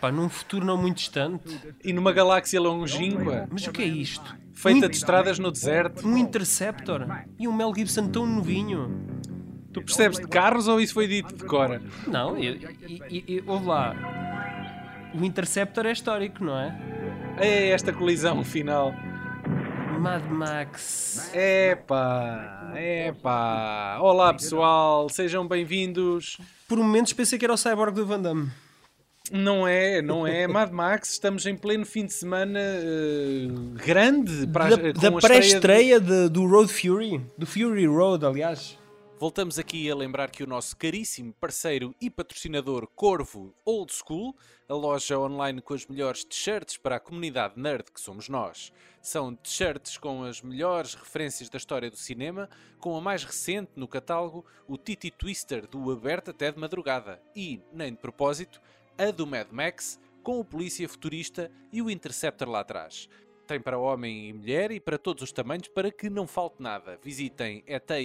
Pá, num futuro não muito distante. E numa galáxia longínqua, Mas o que é isto? feita de estradas no deserto. Um Interceptor e um Mel Gibson tão novinho. Tu percebes de carros ou isso foi dito de cora? Não, ouve lá. O Interceptor é histórico, não é? É esta colisão final. Mad Max. Epá. Olá pessoal, sejam bem-vindos. Por momentos pensei que era o Cyborg do Van Damme. Não é. Mad Max, estamos em pleno fim de semana grande. Da pré-estreia do Road Fury. Do Fury Road, aliás. Voltamos aqui a lembrar que o nosso caríssimo parceiro e patrocinador Corvo Old School, a loja online com as melhores t-shirts para a comunidade nerd que somos nós. São t-shirts com as melhores referências da história do cinema, com a mais recente no catálogo, o Titi Twister do Aberto até de Madrugada e, nem de propósito, a do Mad Max, com o Polícia Futurista e o Interceptor lá atrás. Tem para homem e mulher e para todos os tamanhos para que não falte nada. Visitem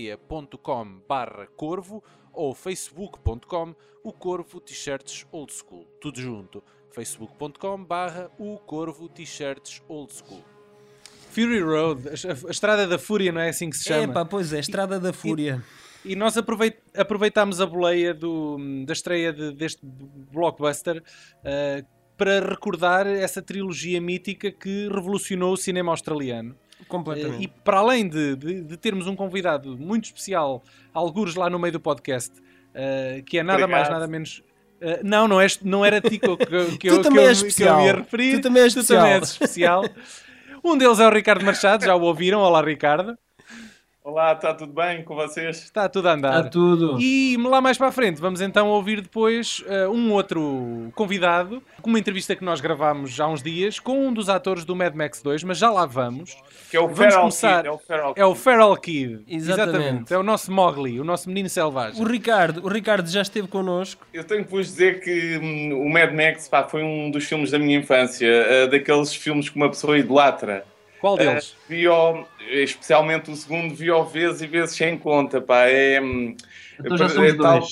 eteia.com/corvo ou facebook.com o Corvo T-shirts Old School. Tudo junto. facebook.com/o Corvo T-shirts Old School. Fury Road, a Estrada da Fúria, não é assim que se chama? Pá, pois é, Estrada da Fúria. E nós aproveitámos a boleia da estreia deste blockbuster para recordar essa trilogia mítica que revolucionou o cinema australiano. Completamente. E para além de termos um convidado muito especial, algures lá no meio do podcast, que é nada mais, nada menos... não era a ti que eu ia referir. Tu também és especial. Um deles é o Ricardo Machado, já o ouviram. Olá, Ricardo. Olá, está tudo bem com vocês? Está tudo a andar. Está tudo. E lá mais para a frente vamos então ouvir depois um outro convidado, com uma entrevista que nós gravámos há uns dias, com um dos atores do Mad Max 2, mas já lá vamos. Que é o Feral Kid. É o Feral Kid. Exatamente. É o nosso Mowgli, o nosso menino selvagem. O Ricardo já esteve connosco. Eu tenho que vos dizer que o Mad Max foi um dos filmes da minha infância, daqueles filmes que uma pessoa idolatra. Qual deles? Especialmente o segundo, vi-o vezes e vezes sem conta, pá. Então já somos dois.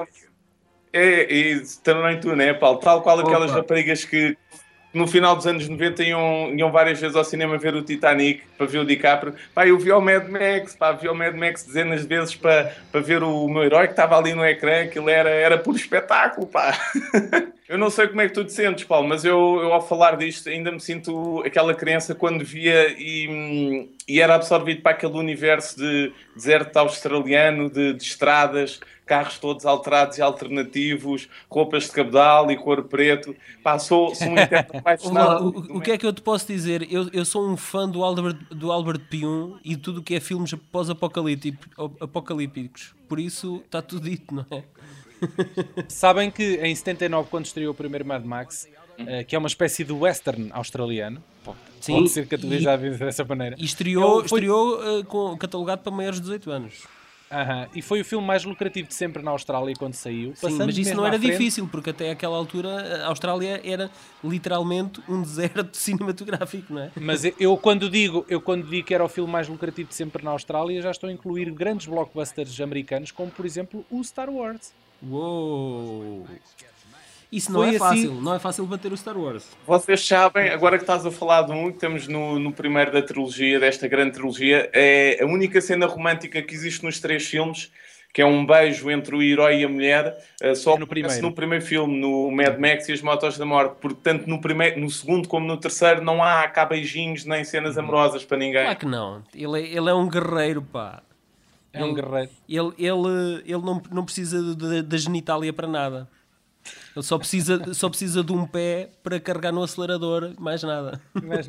E também tu, né, Paulo? Tal qual aquelas raparigas que no final dos anos 90 iam várias vezes ao cinema ver o Titanic para ver o DiCaprio. Pá, eu vi o Mad Max dezenas de vezes para ver o meu herói que estava ali no ecrã, aquilo era puro espetáculo, pá. Eu não sei como é que tu te sentes, Paulo, mas eu ao falar disto ainda me sinto aquela criança quando via e era absorvido para aquele universo de deserto australiano, de estradas, carros todos alterados e alternativos, roupas de cabedal e cor preto. Pá, sou um interno apaixonado. O que é que eu te posso dizer? Eu sou um fã do Albert Pyun e tudo o que é filmes pós-apocalípticos. Por isso está tudo dito, não é? Sabem que em 79, quando estreou o primeiro Mad Max, que é uma espécie de western australiano, pode ser categorizado dessa maneira, e estreou catalogado para maiores de 18 anos. E foi o filme mais lucrativo de sempre na Austrália quando saiu. Sim, mas isso não era difícil, porque até aquela altura a Austrália era literalmente um deserto cinematográfico, não é? Mas eu quando digo que era o filme mais lucrativo de sempre na Austrália, já estou a incluir grandes blockbusters americanos, como por exemplo o Star Wars. Uou! Isso não é fácil, não é fácil bater o Star Wars. Vocês sabem, agora que estás a falar de que estamos no primeiro da trilogia, desta grande trilogia, é a única cena romântica que existe nos três filmes, que é um beijo entre o herói e a mulher, só no primeiro filme, no Mad Max e as Motos da Morte, porque tanto no segundo como no terceiro não há cá beijinhos nem cenas amorosas para ninguém. Claro que não, ele é um guerreiro, pá. É um guerreiro. Ele não precisa da genitália para nada. Ele só precisa de um pé para carregar no acelerador, mais nada.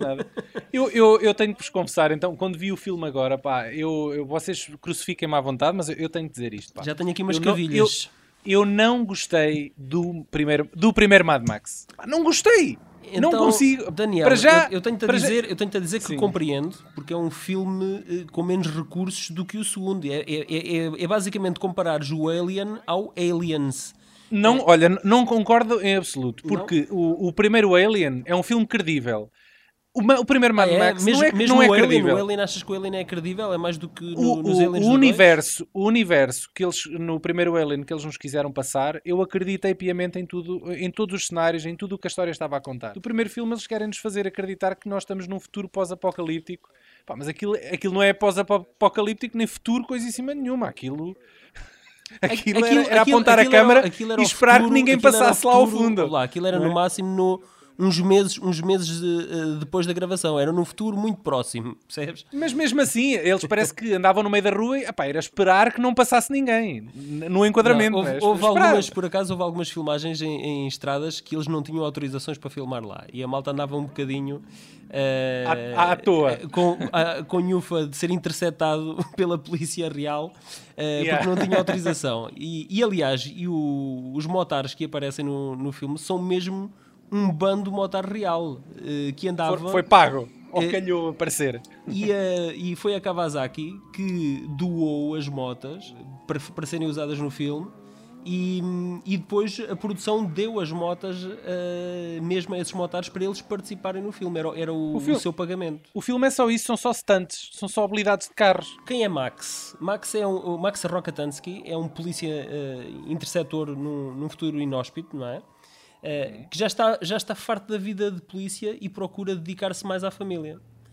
Eu tenho que vos confessar, então, quando vi o filme agora, pá, vocês crucifiquem-me à vontade, mas eu tenho que dizer isto, pá. Já tenho aqui umas cavilhas. Eu não gostei do primeiro Mad Max. Pá, não gostei! Então, não consigo. Daniel, para já, eu tenho-te a dizer que compreendo, porque é um filme com menos recursos do que o segundo. É basicamente comparares o Alien ao Aliens. Não, olha, não concordo em absoluto, porque o primeiro Alien é um filme credível. O primeiro Mad Max mesmo não é o Alien, credível. o Alien, achas que o Alien é credível? É mais do que nos O Aliens do universo que eles, no primeiro Alien, que eles nos quiseram passar, eu acreditei piamente em tudo, em todos os cenários, em tudo o que a história estava a contar. No primeiro filme eles querem nos fazer acreditar que nós estamos num futuro pós-apocalíptico. Pá, mas aquilo não é pós-apocalíptico nem futuro, coisa em cima nenhuma. Aquilo era apontar a câmara e esperar que ninguém passasse lá ao fundo. Aquilo era no máximo uns meses depois da gravação. Era num futuro muito próximo, percebes? Mas mesmo assim, eles parece que andavam no meio da rua e era esperar que não passasse ninguém no enquadramento. Houve algumas filmagens em estradas que eles não tinham autorizações para filmar lá. E a malta andava um bocadinho à toa. Com nhufa de ser interceptado pela polícia real porque não tinha autorização. E aliás, os motares que aparecem no filme são mesmo um bando motar real que andava... Foi pago, ou calhou aparecer. E foi a Kawasaki que doou as motas para serem usadas no filme e depois a produção deu as motas mesmo a esses motares para eles participarem no filme. Era o seu pagamento. O filme é só isso, são só stunts, são só habilidades de carros. Quem é Max? O Max Rokatansky é um polícia interceptor num futuro inóspito, não é? Que já está farto da vida de polícia e procura dedicar-se mais à família.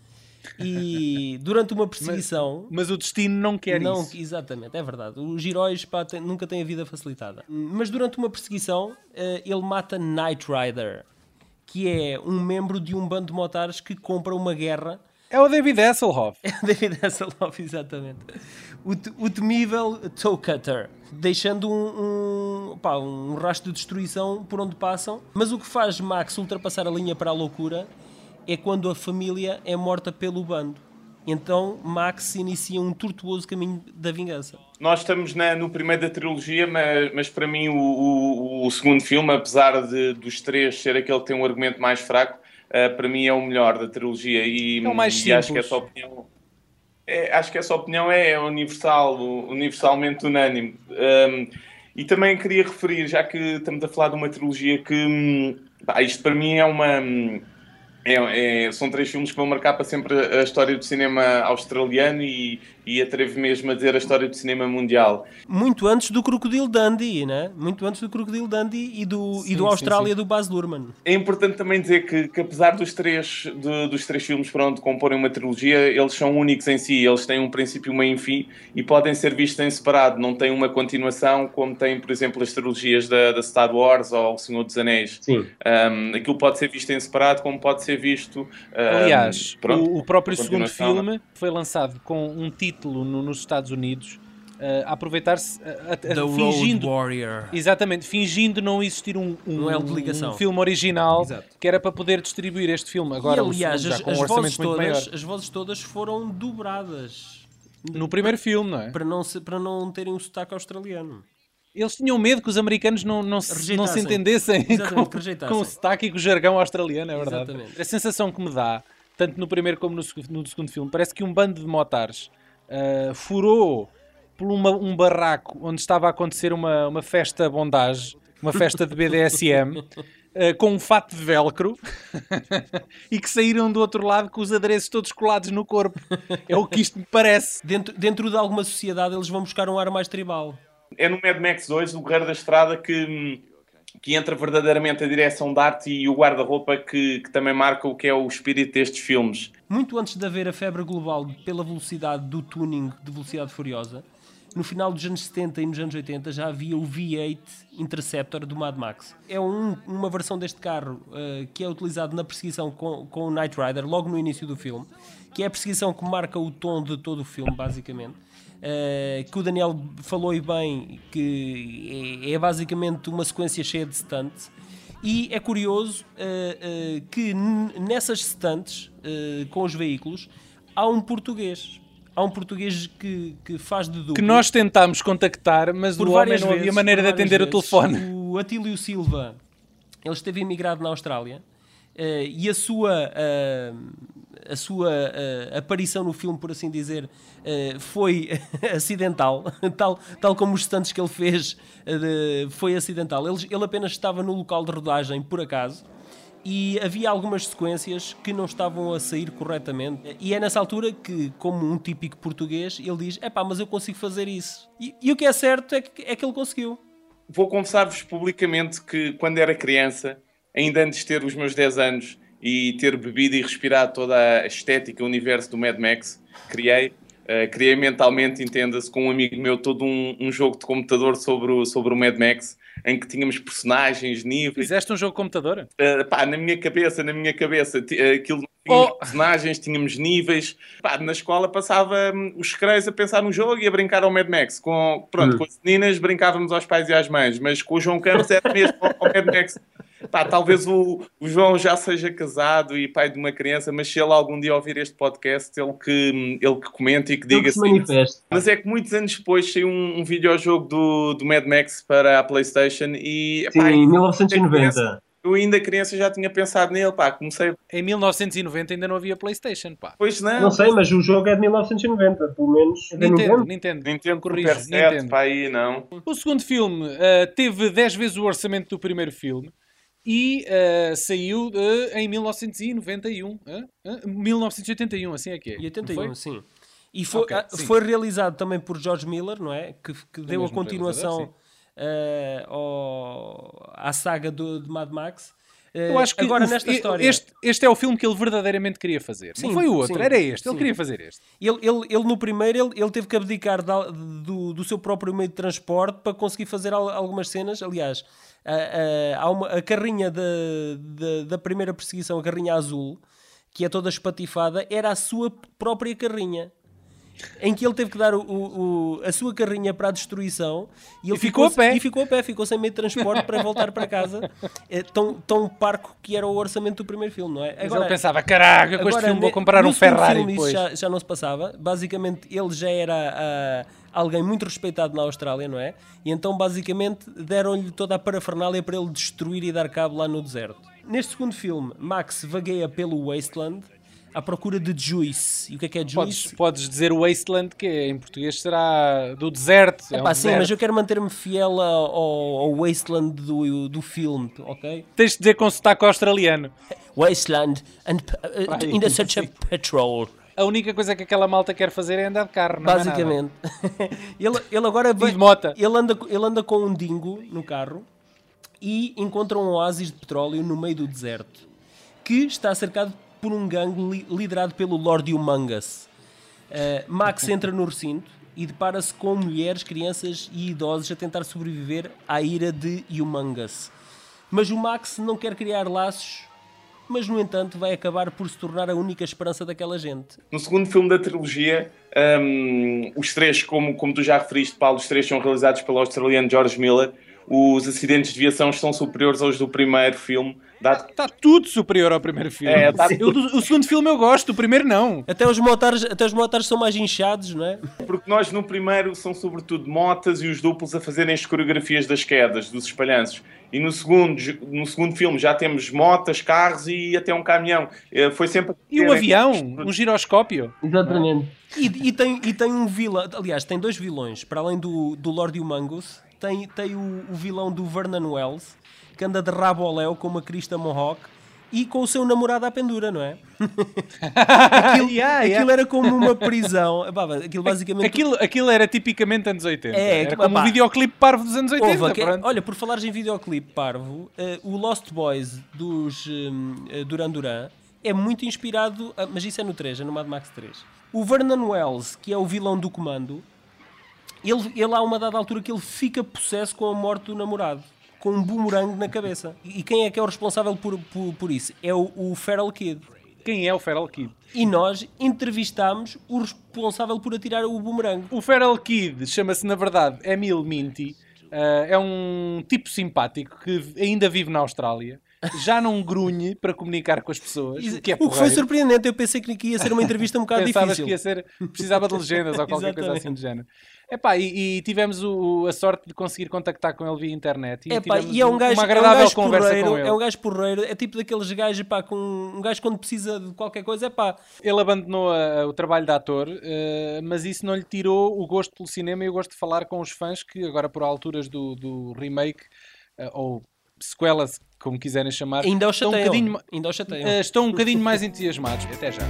E durante uma perseguição... Mas o destino não quer isso. Exatamente, é verdade. Os heróis nunca têm a vida facilitada. Mas durante uma perseguição, ele mata Knight Rider, que é um membro de um bando de motares que compra uma guerra. É o David Hasselhoff. É o David Hasselhoff, exatamente. O temível Toe Cutter, deixando um rastro de destruição por onde passam. Mas o que faz Max ultrapassar a linha para a loucura é quando a família é morta pelo bando. Então Max inicia um tortuoso caminho da vingança. Nós estamos no primeiro da trilogia, mas para mim o segundo filme, apesar dos três ser aquele que tem um argumento mais fraco, para mim é o melhor da trilogia e é o mais simples. Acho que essa opinião acho que essa opinião é universalmente unânime. E também queria referir, já que estamos a falar de uma trilogia que isto para mim são três filmes que vão marcar para sempre a história do cinema australiano e atrevo mesmo a dizer a história do cinema mundial. Muito antes do Crocodile Dundee, né? Muito antes do Crocodile Dundee e do Austrália do Baz Luhrmann. É importante também dizer que apesar dos três filmes comporem uma trilogia, eles são únicos em si, eles têm um princípio, meio e fim e podem ser vistos em separado, não têm uma continuação como tem, por exemplo, as trilogias da Star Wars ou O Senhor dos Anéis. Sim. Aquilo pode ser visto em separado como pode ser visto... Aliás, o próprio segundo filme foi lançado com um título nos Estados Unidos a aproveitar-se fingindo, Road Warrior. Exatamente, fingindo não existir um filme original. Exato. Que era para poder distribuir este filme. Agora, e aliás, com um orçamento muito maior. As vozes todas foram dobradas no primeiro filme, não é? Para não terem um sotaque australiano. Eles tinham medo que os americanos não se entendessem com o sotaque e com o jargão australiano, é verdade. Exatamente. A sensação que me dá, tanto no primeiro como no segundo filme, parece que um bando de motares furou por um barraco onde estava a acontecer uma festa bondage, uma festa de BDSM, com um fato de velcro e que saíram do outro lado com os adereços todos colados no corpo. É o que isto me parece. Dentro de alguma sociedade eles vão buscar um ar mais tribal. É no Mad Max 2, o Guerreiro da Estrada, que entra verdadeiramente a direção de arte e o guarda-roupa que também marca o que é o espírito destes filmes. Muito antes de haver a febre global pela velocidade do tuning de velocidade furiosa, no final dos anos 70 e nos anos 80 já havia o V8 Interceptor do Mad Max. É uma versão deste carro que é utilizado na perseguição com o Knight Rider logo no início do filme, que é a perseguição que marca o tom de todo o filme, basicamente. Que o Daniel falou e bem, que é basicamente uma sequência cheia de stunts. E é curioso que nessas stunts com os veículos há um português. Há um português que faz de duplo. Que nós tentámos contactar, mas o homem não havia maneira de atender o telefone. O Atílio Silva, ele esteve imigrado na Austrália e a sua aparição no filme, por assim dizer, foi acidental, tal como os stunts que ele fez foi acidental. Ele apenas estava no local de rodagem por acaso e havia algumas sequências que não estavam a sair corretamente. E é nessa altura que, como um típico português, ele diz: epá, mas eu consigo fazer isso. E o que é certo é que ele conseguiu. Vou confessar-vos publicamente que quando era criança, ainda antes de ter os meus 10 anos e ter bebido e respirado toda a estética, o universo do Mad Max, criei mentalmente, entenda-se, com um amigo meu, todo um jogo de computador sobre o Mad Max, em que tínhamos personagens, níveis. Fizeste um jogo de computador? Na minha cabeça, aquilo tínhamos personagens, tínhamos níveis. Pá, na escola passava os recreios a pensar no jogo e a brincar ao Mad Max. Com as meninas brincávamos aos pais e às mães, mas com o João Campos era mesmo ao Mad Max. Pá, talvez o João já seja casado e pai de uma criança, mas se ele algum dia ouvir este podcast, ele que comente e que diga assim. Mas é que muitos anos depois saiu um videojogo do Mad Max para a PlayStation e... Sim, em 1990. Eu ainda criança já tinha pensado nele, pá, comecei... Em 1990 ainda não havia PlayStation, pá. Pois não. Não sei, mas o jogo é de 1990, pelo menos. Nintendo, corrijo, Nintendo. Pá, aí não. O segundo filme teve 10 vezes o orçamento do primeiro filme. E saiu em 1991. 1981, assim é que é. E 81, sim. E foi realizado também por George Miller, não é? Que deu a continuação à saga de Mad Max. Eu acho que agora, nesta história... este é o filme que ele verdadeiramente queria fazer. Sim, não foi o outro, era este. Ele queria fazer este. Ele no primeiro, ele teve que abdicar do seu próprio meio de transporte para conseguir fazer algumas cenas. Aliás, a carrinha da primeira perseguição, a carrinha azul, que é toda espatifada, era a sua própria carrinha. Em que ele teve que dar a sua carrinha para a destruição e ele ficou a pé. Ficou sem meio de transporte para voltar para casa. Tão parco que era o orçamento do primeiro filme, não é? Agora, ele pensava, caraca, com este filme vou comprar um Ferrari depois. Isso já não se passava. Basicamente, ele já era alguém muito respeitado na Austrália, não é? E então, basicamente, deram-lhe toda a parafernália para ele destruir e dar cabo lá no deserto. Neste segundo filme, Max vagueia pelo Wasteland à procura de Juice. E o que é Juice? Podes dizer Wasteland, que em português será do deserto. Sim, mas eu quero manter-me fiel ao Wasteland do filme, ok? Tens de dizer com sotaque australiano. Wasteland and in the search of petrol. A única coisa que aquela malta quer fazer é andar de carro, não basicamente. É nada. ele agora ele anda com um dingo no carro e encontra um oásis de petróleo no meio do deserto, que está cercado por um gangue liderado pelo Lord Humongous. Max entra no recinto e depara-se com mulheres, crianças e idosos a tentar sobreviver à ira de Humongous. Mas o Max não quer criar laços, mas no entanto vai acabar por se tornar a única esperança daquela gente. No segundo filme da trilogia, os três, como tu já referiste, Paulo, os três são realizados pelo australiano George Miller. Os acidentes de viação estão superiores aos do primeiro filme. Está tudo superior ao primeiro filme. O segundo filme eu gosto, o primeiro não. Até os motares são mais inchados, não é? Porque nós no primeiro são sobretudo motas e os duplos a fazerem as coreografias das quedas, dos espalhanços. E no segundo filme já temos motas, carros e até um caminhão. Foi sempre... E um avião, um giroscópio. Exatamente. E tem um vilão, aliás, tem dois vilões. Para além do Lord Humongous, tem o vilão do Vernon Wells, que anda de rabo ao léu com uma crista mohawk e com o seu namorado à pendura, não é? Aquilo era como uma prisão. Aquilo basicamente... Aquilo era tipicamente anos 80. Era como um videoclipe parvo dos anos 80. Olha, por falares em videoclipe parvo, o Lost Boys dos Duran Duran é muito inspirado, mas isso é no 3, é no Mad Max 3. O Vernon Wells, que é o vilão do comando, ele há uma dada altura que ele fica possesso com a morte do namorado, com um boomerang na cabeça. E quem é que é o responsável por isso? É o Feral Kid. Quem é o Feral Kid? E nós entrevistámos o responsável por atirar o boomerang. O Feral Kid chama-se, na verdade, Emil Minty. É um tipo simpático que ainda vive na Austrália. Já não grunhe para comunicar com as pessoas. O que foi surpreendente. Eu pensei que ia ser uma entrevista um bocado Pensavas difícil. Precisava de legendas ou qualquer coisa assim do género. E tivemos a sorte de conseguir contactar com ele via internet. E é um gajo, uma agradável conversa com ele. É um gajo porreiro. É tipo daqueles gajos, com um gajo quando precisa de qualquer coisa, Ele abandonou o trabalho de ator, mas isso não lhe tirou o gosto pelo cinema e o gosto de falar com os fãs que agora por alturas do remake, ou sequela, como quiserem chamar, Ainda o estão chateiam. Ainda o chateiam. estão um bocadinho mais entusiasmados. Até já.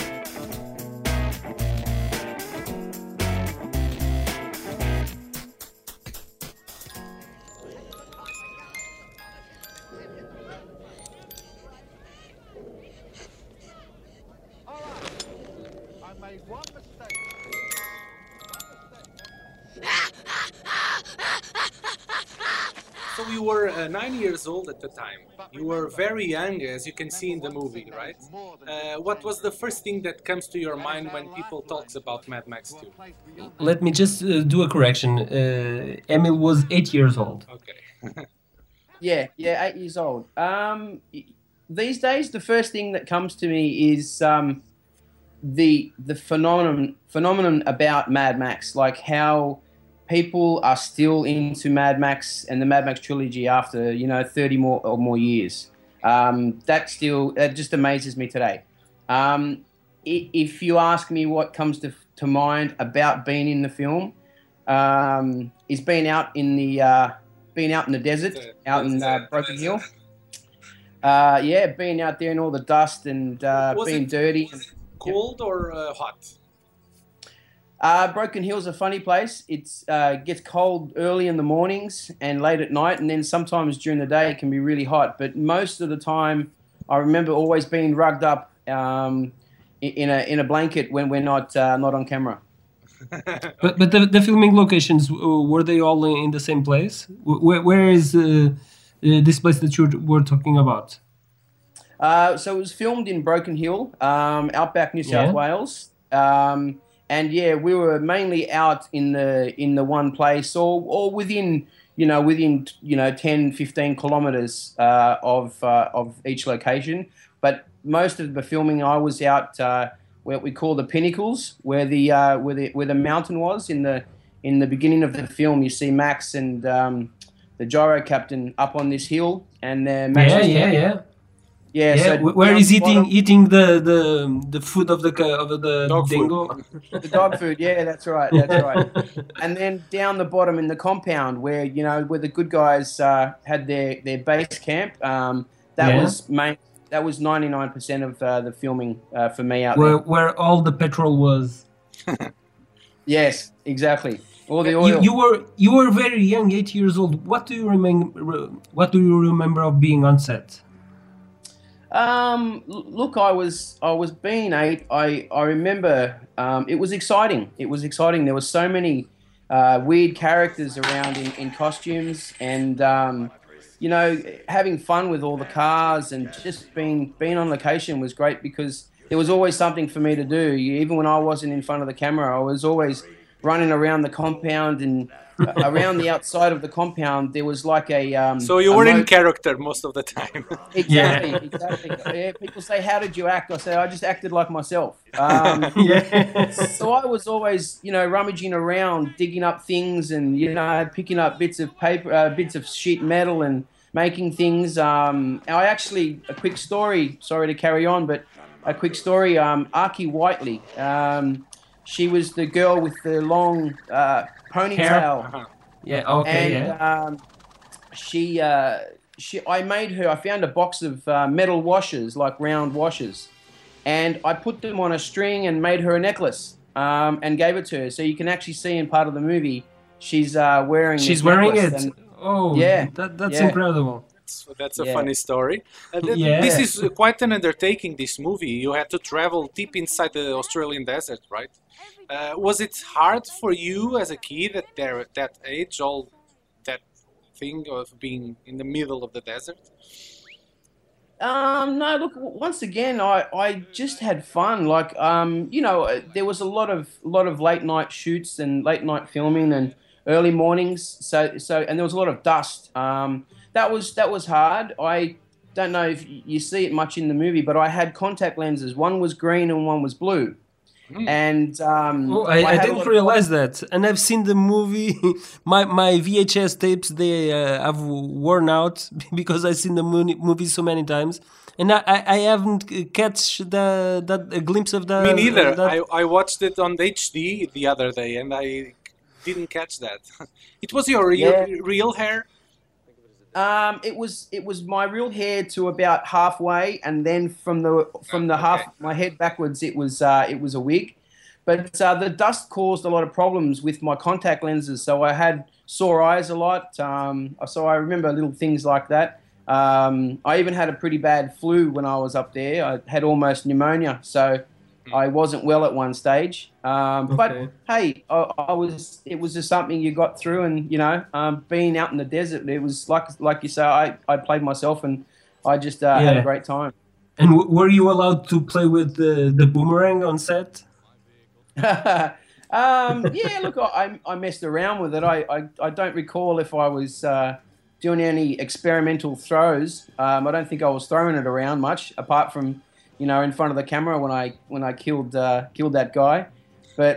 So you were 9 years old at the time. You were very young, as you can see in the movie, right? What was the first thing that comes to your mind when people talks about Mad Max 2? Let me just do a correction. Emil was 8 years old. Okay. Yeah, 8 years old. These days, the first thing that comes to me is the phenomenon about Mad Max, like how people are still into Mad Max and the Mad Max trilogy after 30 more years. That just amazes me today. If you ask me what comes to mind about being in the film, is being out in the desert, out in Broken Hill. Being out there in all the dust and being dirty. Cold or hot? Broken Hill's a funny place. It's gets cold early in the mornings and late at night, and then sometimes during the day it can be really hot. But most of the time, I remember always being rugged up in a blanket when we're not on camera. But the filming locations, were they all in the same place? Where is this place that you were talking about? So it was filmed in Broken Hill, outback New South Wales. And yeah, we were mainly out in the one place, or within 10, 15 kilometers of each location. But most of the filming, I was out what we call the pinnacles, where the mountain was in the beginning of the film. You see Max and the gyro captain up on this hill, and Max Yeah, so where is eating the food of the dog dingo? The dog food, yeah, that's right. And then down the bottom in the compound where the good guys had their base camp. That was 99% of the filming for me out there. Where all the petrol was. Yes, exactly. All the oil. You were very young, 8 years old. What do you remember of being on set? Look, I was being 8. I remember it was exciting. There were so many weird characters around in costumes, and having fun with all the cars, and just being on location was great because there was always something for me to do. Even when I wasn't in front of the camera, I was always running around the compound, and around the outside of the compound there was like a so you were in character most of the time. Exactly. Yeah, people say, how did you act? I say, I just acted like myself. So I was always rummaging around, digging up things, and picking up bits of paper, bits of sheet metal, and making things. I actually, a quick story, sorry to carry on, but a quick story, Archie Whiteley, she was the girl with the long ponytail. Yeah, okay, and, I made her, I found a box of metal washers, like round washers, and I put them on a string and made her a necklace, and gave it to her. So you can actually see in part of the movie, she's wearing it. And, oh, yeah, that's incredible. That's a funny story. This is quite an undertaking, this movie. You had to travel deep inside the Australian desert, right? Was it hard for you as a kid at that age, all that thing of being in the middle of the desert? No, look, once again, I just had fun. Like, there was a lot of late night shoots and late night filming and early mornings. So and there was a lot of dust. That was hard. I don't know if you see it much in the movie, but I had contact lenses. One was green and one was blue. And I didn't realize that. And I've seen the movie. my VHS tapes, they have worn out because I've seen the movie so many times, and I haven't catch that glimpse of the. Me neither. I watched it on HD the other day, and I didn't catch that. It was your real hair. It was my real hair to about halfway, and then from the half my head backwards, it was a wig. But the dust caused a lot of problems with my contact lenses, so I had sore eyes a lot. So I remember little things like that. I even had a pretty bad flu when I was up there. I had almost pneumonia, so I wasn't well at one stage. But hey, it was just something you got through, and being out in the desert, it was like you say, I played myself, and I just had a great time. And were you allowed to play with the boomerang on set? Yeah, look, I messed around with it. I don't recall if I was doing any experimental throws. I don't think I was throwing it around much, apart from in front of the camera when I killed that guy. But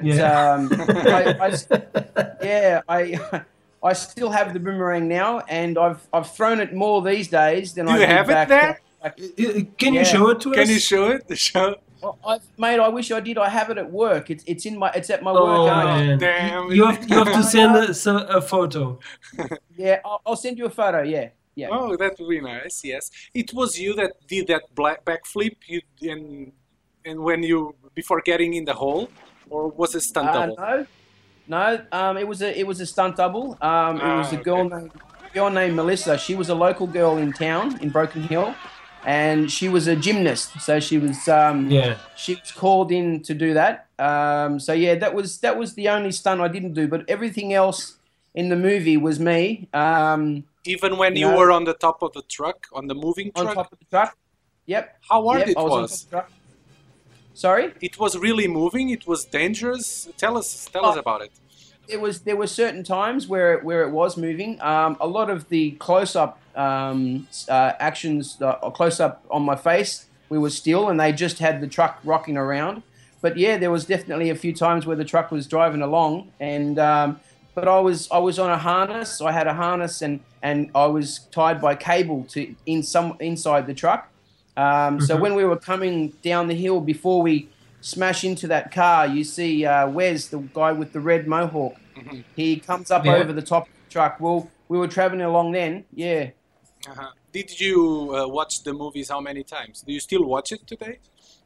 I still have the boomerang now, and I've thrown it more these days than I did. Do you have it there? Can you show it to us? Can you show it? Mate, I wish I did. I have it at work. It's at my work. Man. Damn. You have to send us a photo. Yeah, I'll send you a photo. Yeah. Oh, that would be nice. Yes, it was you that did that backflip. And when you before getting in the hole, or was it stunt double? No. It was a stunt double. It was a girl named Melissa. She was a local girl in town in Broken Hill. And she was a gymnast, so she was she was called in to do that. That was the only stunt I didn't do, but everything else in the movie was me. Even when you were on the top of the truck, on the moving truck? On top of the truck, yep. How hard it was? On top of the truck. Sorry? It was really moving? It was dangerous? Tell us about it. There were certain times where it was moving. A lot of the close-up actions, close-up on my face, we were still, and they just had the truck rocking around. But yeah, there was definitely a few times where the truck was driving along, and but I was on a harness. I had a harness, and I was tied by cable to inside the truck. So when we were coming down the hill, before we smash into that car, you see Wes, the guy with the red mohawk. Mm-hmm. He comes up over the top of the truck. Well, we were traveling along then, yeah. Uh-huh. Did you watch the movies how many times? Do you still watch it today?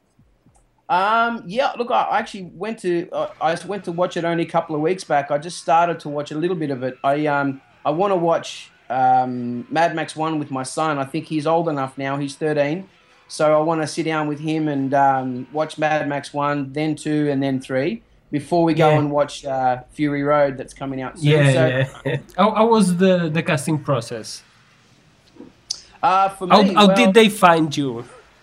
Yeah, look, I actually went to watch it only a couple of weeks back. I just started to watch a little bit of it. I want to watch Mad Max 1 with my son. I think he's old enough now. He's 13. So I want to sit down with him and watch Mad Max 1, then 2, and then 3 before we go and watch Fury Road that's coming out soon. How was the casting process? For me, how did they find you?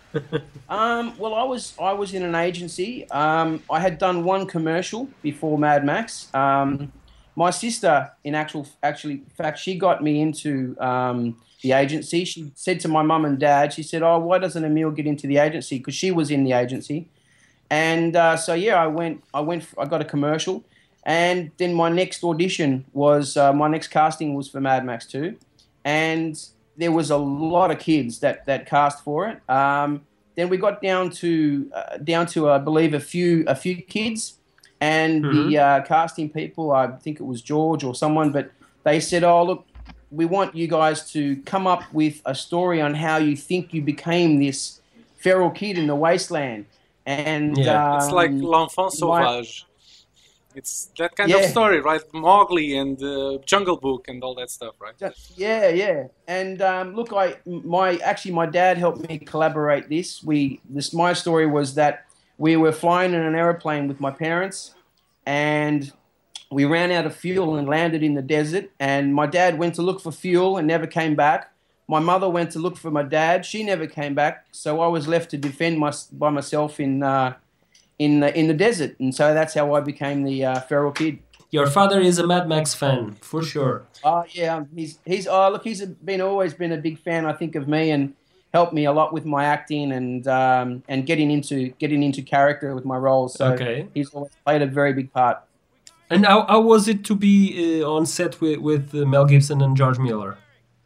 Well, I was in an agency. I had done one commercial before Mad Max. My sister, in fact, she got me into the agency. She said to my mum and dad, she said, "Oh, why doesn't Emil get into the agency?" Because she was in the agency. And I got a commercial. And then my next audition was, my next casting was for Mad Max 2. And there was a lot of kids that cast for it. Then we got down to I believe a few kids, and the casting people, I think it was George or someone, but they said, "Oh, look, we want you guys to come up with a story on how you think you became this feral kid in the wasteland." And it's like L'Enfant Sauvage. It's that kind of story, right? Mowgli and Jungle Book and all that stuff, right? Yeah. And look, my dad helped me collaborate this. My story was that we were flying in an airplane with my parents, and we ran out of fuel and landed in the desert. And my dad went to look for fuel and never came back. My mother went to look for my dad. She never came back. So I was left to defend by myself in the desert, and so that's how I became the feral kid. Your father is a Mad Max fan, for sure. Yeah, he's always been a big fan, I think, of me, and helped me a lot with my acting and getting into character with my roles. So he's always played a very big part. And how was it to be on set with Mel Gibson and George Miller?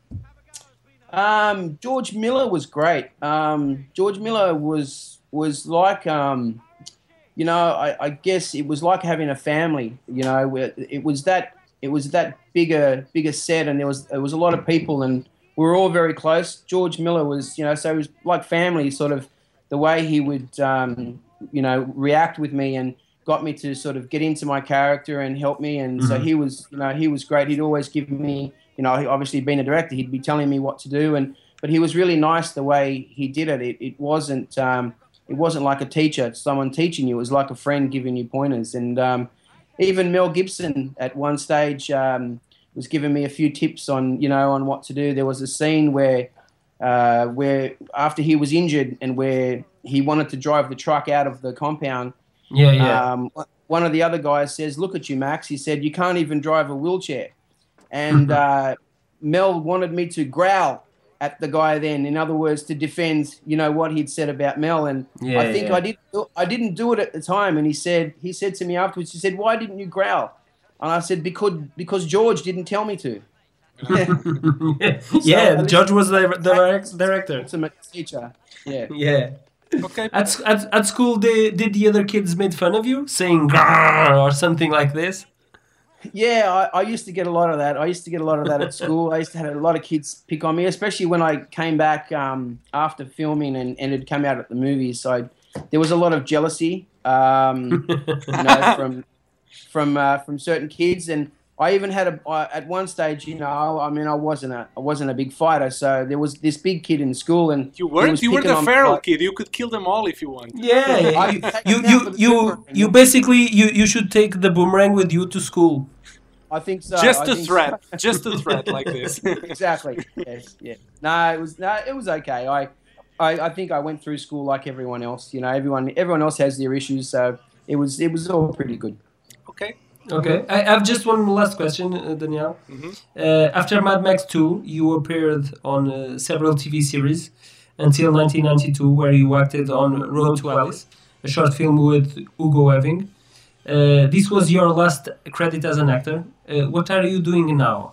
George Miller was great. George Miller was like I guess it was like having a family. It was that bigger set, and there was a lot of people, and we were all very close. George Miller was, you know, so it was like family, sort of the way he would, you know, react with me and got me to sort of get into my character and help me. And so he was, you know, he was great. He'd always give me, you know, obviously being a director, he'd be telling me what to do. But he was really nice the way he did it. It wasn't like a teacher, someone teaching you. It was like a friend giving you pointers. And even Mel Gibson at one stage was giving me a few tips on, you know, on what to do. There was a scene where after he was injured and where he wanted to drive the truck out of the compound. One of the other guys says, "Look at you, Max." He said, "You can't even drive a wheelchair." And Mel wanted me to growl at the guy then, in other words, to defend, you know, what he'd said about Mel. And I think I didn't do it at the time. And he said to me afterwards, he said, "Why didn't you growl?" And I said, because George didn't tell me to. George was the director. Ultimate teacher. Yeah. Yeah. Ok. At school, did the other kids made fun of you, saying "grrr" or something like this? Yeah, I used to get a lot of that. I used to get a lot of that at school. I used to have a lot of kids pick on me, especially when I came back after filming and it had come out at the movies. So there was a lot of jealousy, you know, from certain kids. And I even had at one stage, you know, I mean, I wasn't a big fighter, so there was this big kid in school, and You were the feral kid. You could kill them all if you want. Yeah, you basically you should take the boomerang with you to school. I think so. Just a threat like this. Exactly. Yes. Yeah. It was okay. I think I went through school like everyone else. You know, everyone else has their issues, so it was all pretty good. Okay. I have just one last question, Daniel. After Mad Max 2, you appeared on several TV series until 1992, where you acted on Road to Alice, a short film with Hugo Weaving. This was your last credit as an actor. What are you doing now?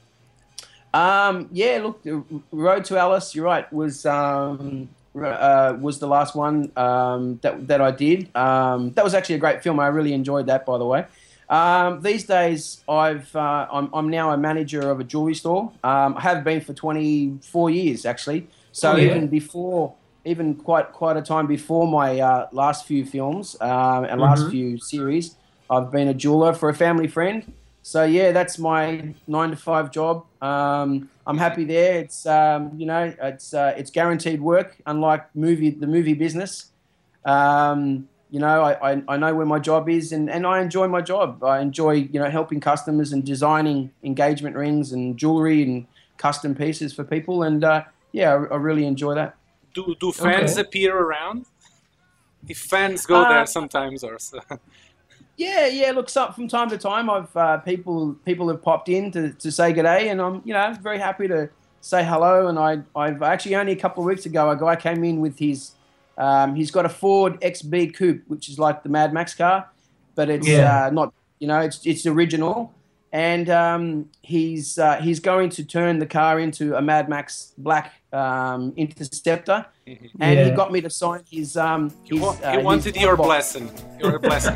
Look, Road to Alice, you're right, was the last one that I did. That was actually a great film. I really enjoyed that, by the way. These days, I'm now a manager of a jewelry store. I have been for 24 years, actually. So even quite a time before my last few films and last few series, I've been a jeweler for a family friend. So yeah, that's my 9-to-5 job. I'm happy there. It's you know, it's guaranteed work, unlike the movie business. You know, I know where my job is, and I enjoy my job. I enjoy, you know, helping customers and designing engagement rings and jewelry and custom pieces for people. And I really enjoy that. Do fans appear around? If fans go there sometimes, or so. Yeah. Look, from time to time, I've people have popped in to say good day, and I'm, you know, very happy to say hello. And I've actually only a couple of weeks ago, a guy came in with his. He's got a Ford XB Coupe, which is like the Mad Max car, but it's not, you know, it's original. And he's going to turn the car into a Mad Max Black Interceptor, and he got me to sign his. He wanted your blessing. Your blessing.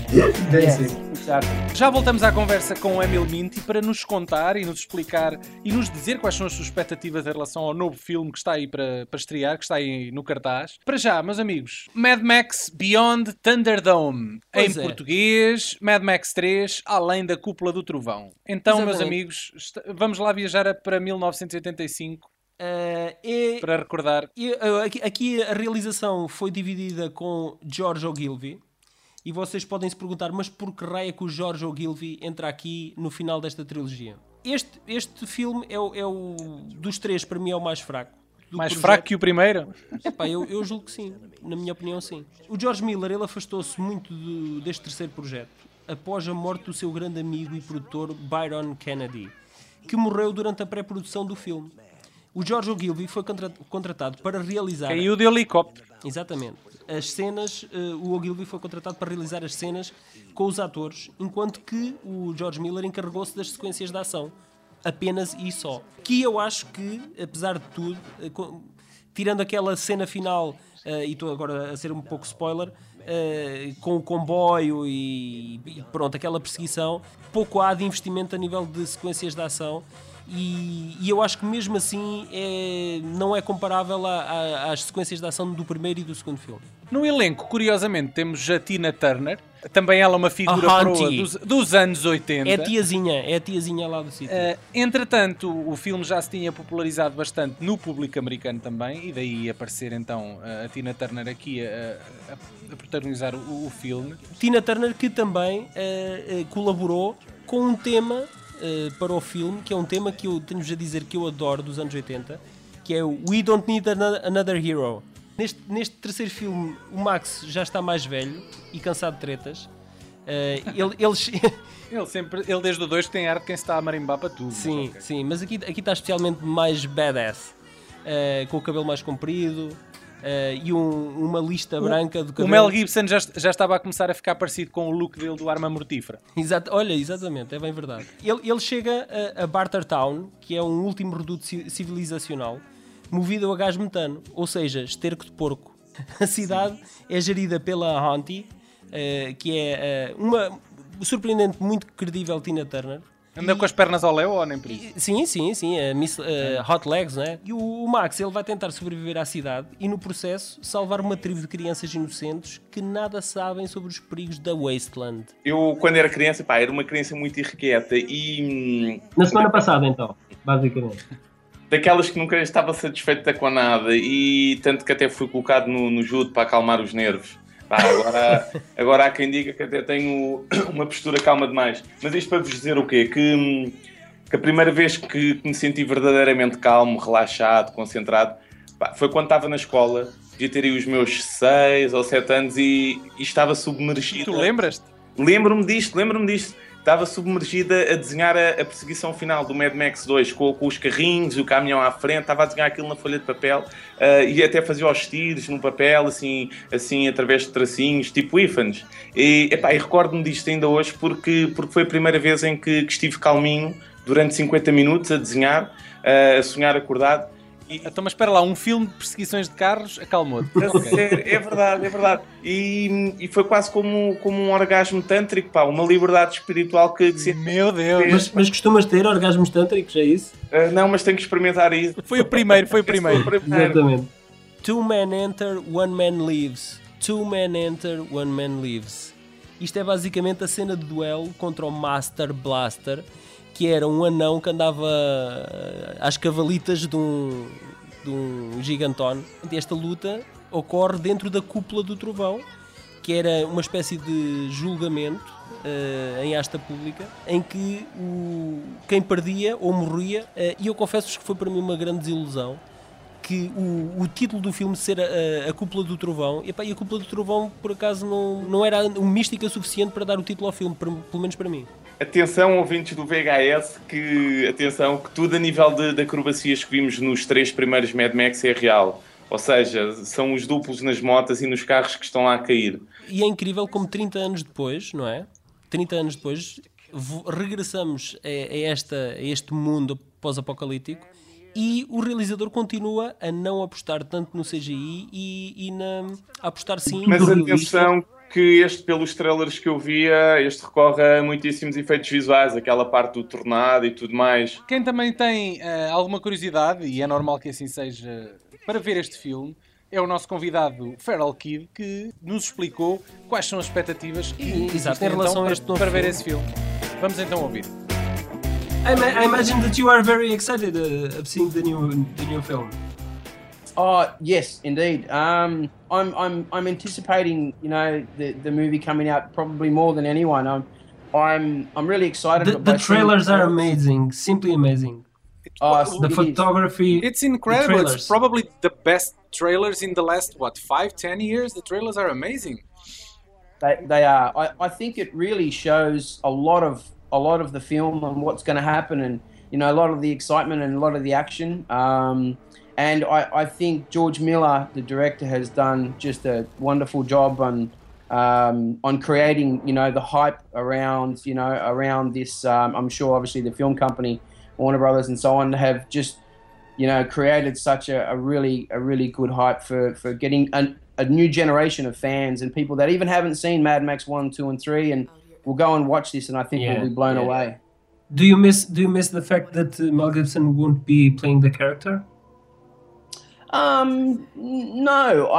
Já voltamos à conversa com o Emil Minty para nos contar e nos explicar e nos dizer quais são as suas expectativas em relação ao novo filme que está aí para estrear, que está aí no cartaz. Para já, meus amigos, Mad Max Beyond Thunderdome, em português, Mad Max 3, Além da Cúpula do Trovão. Então, meus amigos, vamos lá viajar para 1985. Para recordar. Aqui a realização foi dividida com George Ogilvy. E vocês podem se perguntar, mas por que raio é que o George Ogilvy entra aqui no final desta trilogia? Este filme é o dos três, para mim, é o mais fraco. Mais fraco que o primeiro? Eu julgo que sim. Na minha opinião, sim. O George Miller, ele afastou-se muito deste terceiro projeto após a morte do seu grande amigo e produtor Byron Kennedy, que morreu durante a pré-produção do filme. O George Ogilvy foi contratado para realizar... Caiu de helicóptero. Exatamente. As cenas, o Ogilvy foi contratado para realizar as cenas com os atores, enquanto que o George Miller encarregou-se das sequências de ação. Apenas e só. Que eu acho que, apesar de tudo, tirando aquela cena final, e estou agora a ser um pouco spoiler, com o comboio e pronto, aquela perseguição, pouco há de investimento a nível de sequências de ação. E eu acho que mesmo assim não é comparável às sequências de ação do primeiro e do segundo filme. No elenco, curiosamente, temos a Tina Turner, também ela uma figura proa dos anos 80. É a tiazinha lá do sítio. Entretanto, o filme já se tinha popularizado bastante no público americano também, e daí aparecer então a Tina Turner aqui a protagonizar o filme. Tina Turner que também colaborou com um tema para o filme, que é um tema que eu tenho-vos a dizer que eu adoro dos anos 80, que é o We Don't Need Another Hero. Neste terceiro filme, o Max já está mais velho e cansado de tretas. Ele desde o 2 que tem arte de quem se está a marimbar para tudo. Sim, sim, mas aqui está especialmente mais badass, com o cabelo mais comprido e uma lista branca do cabelo. O Mel Gibson já estava a começar a ficar parecido com o look dele do Arma Mortífera. Olha, exatamente, é bem verdade. Ele chega a Bartertown, que é um último reduto civilizacional, movido a gás metano, ou seja, esterco de porco. A cidade é gerida pela Auntie, que é uma surpreendente, muito credível Tina Turner. Anda com as pernas ao léu ou nem por isso? Sim, a Miss Hot Legs, né? E o Max, ele vai tentar sobreviver à cidade e no processo salvar uma tribo de crianças inocentes que nada sabem sobre os perigos da Wasteland. Eu, quando era criança, era uma criança muito irrequieta e... Na semana passada, então, basicamente. Daquelas que nunca estava satisfeita com nada e tanto que até fui colocado no judo para acalmar os nervos. Agora há quem diga que até tenho uma postura calma demais. Mas isto para vos dizer o quê? Que a primeira vez que me senti verdadeiramente calmo, relaxado, concentrado, foi quando estava na escola. Devia ter aí os meus 6 ou 7 anos e estava submergido. Tu lembras-te? Lembro-me disto. Estava submergida a desenhar a perseguição final do Mad Max 2 com os carrinhos e o caminhão à frente. Estava a desenhar aquilo na folha de papel e até fazia os tiros no papel, assim através de tracinhos, tipo ífanes. E recordo-me disto ainda hoje porque foi a primeira vez em que estive calminho durante 50 minutos a desenhar, a sonhar acordado. Então, mas espera lá, um filme de perseguições de carros acalmou-te. É verdade. E foi quase como um orgasmo tântrico, uma liberdade espiritual que Meu Deus! Mas costumas ter orgasmos tântricos, é isso? Não, mas tenho que experimentar isso. Foi o primeiro. Exatamente. Two men enter, one man leaves. Two men enter, one man leaves. Isto é basicamente a cena de duelo contra o Master Blaster, que era um anão que andava às cavalitas de um gigantone. Esta luta ocorre dentro da cúpula do trovão, que era uma espécie de julgamento em asta pública, em que quem perdia ou morria, e eu confesso-vos que foi para mim uma grande desilusão, que o título do filme ser a Cúpula do Trovão, e a Cúpula do Trovão por acaso não era mística suficiente para dar o título ao filme, pelo menos para mim. Atenção, ouvintes do VHS, que tudo a nível de acrobacias que vimos nos 3 primeiros Mad Max é real. Ou seja, são os duplos nas motas e nos carros que estão lá a cair. E é incrível como 30 anos depois, não é? 30 anos depois, regressamos a este mundo pós-apocalíptico e o realizador continua a não apostar tanto no CGI e a apostar sim no realismo. Mas atenção que pelos trailers que eu via, recorre a muitíssimos efeitos visuais, aquela parte do tornado e tudo mais. Quem também tem alguma curiosidade, e é normal que assim seja, para ver este filme, é o nosso convidado Feral Kid, que nos explicou quais são as expectativas Exato, em relação a este novo para ver filme. esse filme. Vamos então ouvir. I imagine that you are very excited of seeing the new film. Oh yes, indeed. I'm anticipating, the movie coming out probably more than anyone. I'm really excited. The trailers are amazing, simply amazing. The photography. It's incredible. It's probably the best trailers in the last 5-10 years. The trailers are amazing. They are. I think it really shows a lot of the film and what's going to happen, and a lot of the excitement and a lot of the action. And I think George Miller, the director, has done just a wonderful job on creating, the hype around, around this. I'm sure, obviously, the film company, Warner Brothers, and so on, have just, created such a really good hype for getting a new generation of fans and people that even haven't seen Mad Max 1, 2, and 3, and will go and watch this, and I think will be blown away. Do you miss the fact that Mel Gibson won't be playing the character? No,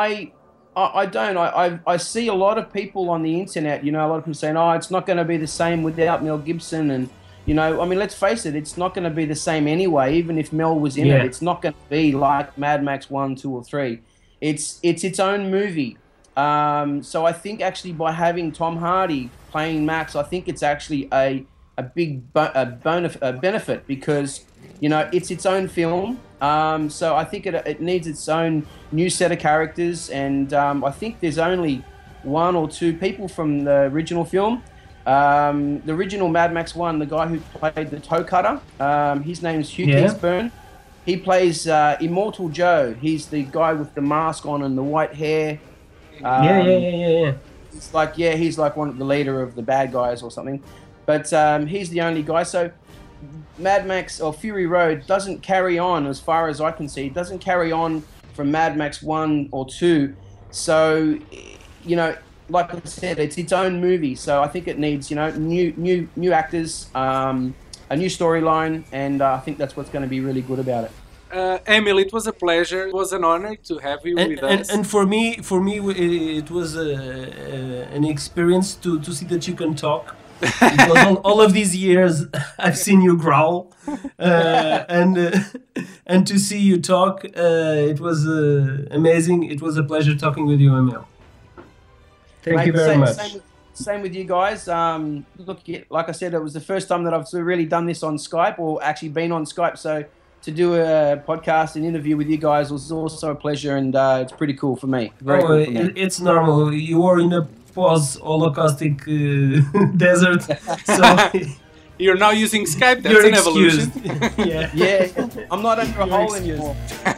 I don't. I see a lot of people on the internet, a lot of people saying, oh, it's not going to be the same without Mel Gibson. And, let's face it, it's not going to be the same anyway, even if Mel was in it. It's not going to be like Mad Max 1, 2, or 3. It's its own movie. So I think actually by having Tom Hardy playing Max, I think it's actually a big benefit because, it's its own film. So I think it needs its own new set of characters, and I think there's only 1 or 2 people from the original film. The original Mad Max 1, the guy who played the toe cutter, his name's Hugh Keays-Byrne. He plays Immortal Joe. He's the guy with the mask on and the white hair. Yeah. It's like, he's like one of the leader of the bad guys or something. But he's the only guy. So Mad Max or Fury Road doesn't carry on, as far as I can see. It doesn't carry on from Mad Max 1 or 2. So, like I said, it's its own movie. So I think it needs, new actors, a new storyline, and I think that's what's going to be really good about it. Emil, it was a pleasure. It was an honor to have you with us. And for me, it was an experience to see that you can talk. Because all of these years I've seen you growl, and to see you talk, it was amazing. It was a pleasure talking with you, Emil. Thank you very much. Same with you guys. Look, like I said, it was the first time that I've really done this on Skype, or actually been on Skype. So to do a podcast and interview with you guys was also a pleasure, and it's pretty cool for me. Very cool for me. It's normal. You were in a post-Holocaustic desert, so you're now using Skype. That's an evolution. Yeah. I'm not under a hole anymore.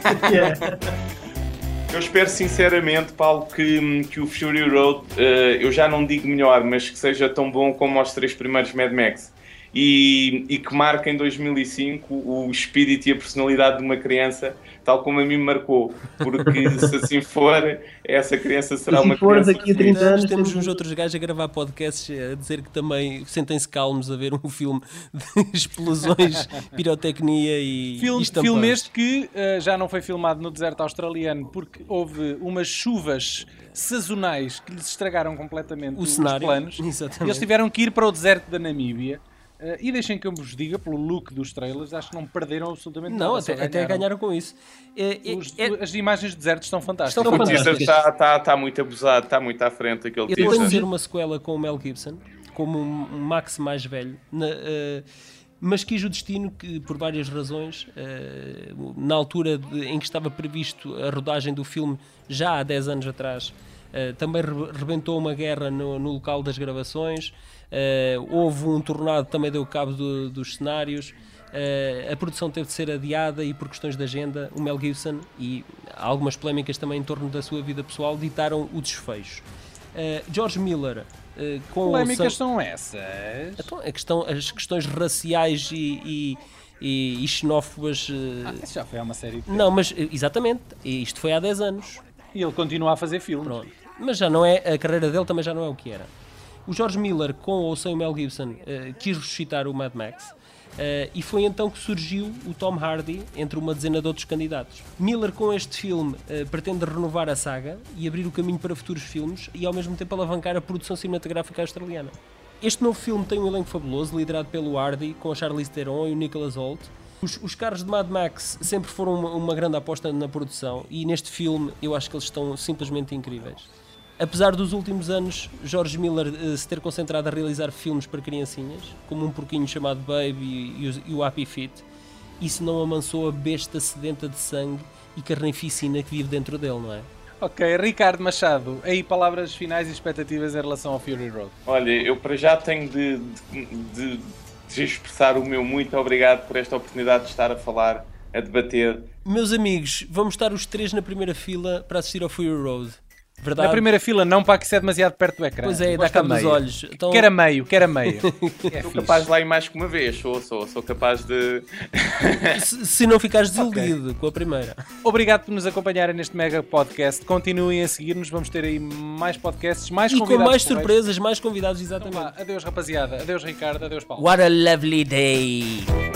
Eu espero sinceramente, Paulo, que o Fury Road, eu já não digo melhor, mas que seja tão bom como os 3 primeiros Mad Max. E que marque em 2005 o espírito e a personalidade de uma criança, tal como a mim me marcou. Porque se assim for, essa criança será uma criança. Daqui a 30 anos temos uns outros gajos a gravar podcasts a dizer que também sentem-se calmos a ver um filme de explosões, pirotecnia e filme este que já não foi filmado no deserto australiano porque houve umas chuvas sazonais que lhes estragaram completamente os planos. Exatamente. Eles tiveram que ir para o deserto da Namíbia. E deixem que eu vos diga, pelo look dos trailers, acho que não perderam absolutamente nada. Não, até ganharam com isso. As imagens de deserto estão fantásticas. O teaser está muito abusado, está muito à frente aquele teaser. Eu vou fazer uma sequela com o Mel Gibson, como um Max mais velho, mas quis o destino que, por várias razões, na altura em que estava previsto a rodagem do filme, já há 10 anos atrás, também rebentou uma guerra no local das gravações. Houve um tornado que também deu cabo dos cenários. A produção teve de ser adiada e por questões de agenda o Mel Gibson e algumas polémicas também em torno da sua vida pessoal ditaram o desfecho. George Miller com polémicas são essas? Então, as questões raciais e xenófobas. Isso já foi há uma série de tempo. Não, mas exatamente, isto foi há 10 anos e ele continua a fazer filmes. Pronto. Mas já não é, a carreira dele também já não é o que era. O George Miller, com ou sem o Mel Gibson, quis ressuscitar o Mad Max, e foi então que surgiu o Tom Hardy entre uma dezena de outros candidatos. Miller, com este filme, pretende renovar a saga e abrir o caminho para futuros filmes e ao mesmo tempo alavancar a produção cinematográfica australiana. Este novo filme tem um elenco fabuloso, liderado pelo Hardy, com a Charlize Theron e o Nicholas Hoult. Os carros de Mad Max sempre foram uma grande aposta na produção e neste filme eu acho que eles estão simplesmente incríveis. Apesar dos últimos anos George Miller se ter concentrado a realizar filmes para criancinhas, como Um Porquinho Chamado Baby e o Happy Feet, isso não amansou a besta sedenta de sangue e carnificina que vive dentro dele, não é? Ok, Ricardo Machado, aí palavras finais e expectativas em relação ao Fury Road. Olha, eu para já tenho de expressar o meu muito obrigado por esta oportunidade de estar a falar, a debater. Meus amigos, vamos estar os 3 na primeira fila para assistir ao Fury Road. Verdade. Na primeira fila não, para que isso é demasiado perto do ecrã. Pois é, dá Gosto cabo a dos meio. olhos. Então... Quer a meio. É Sou fixe. capaz de lá ir mais que uma vez, sou capaz de... se não ficares desiludido com a primeira. Obrigado por nos acompanharem neste mega podcast. Continuem a seguir-nos, vamos ter aí mais podcasts, mais E convidados. com mais porreiros. surpresas, mais convidados, Então exatamente. vá, adeus rapaziada, adeus Ricardo, adeus Paulo. What a lovely day!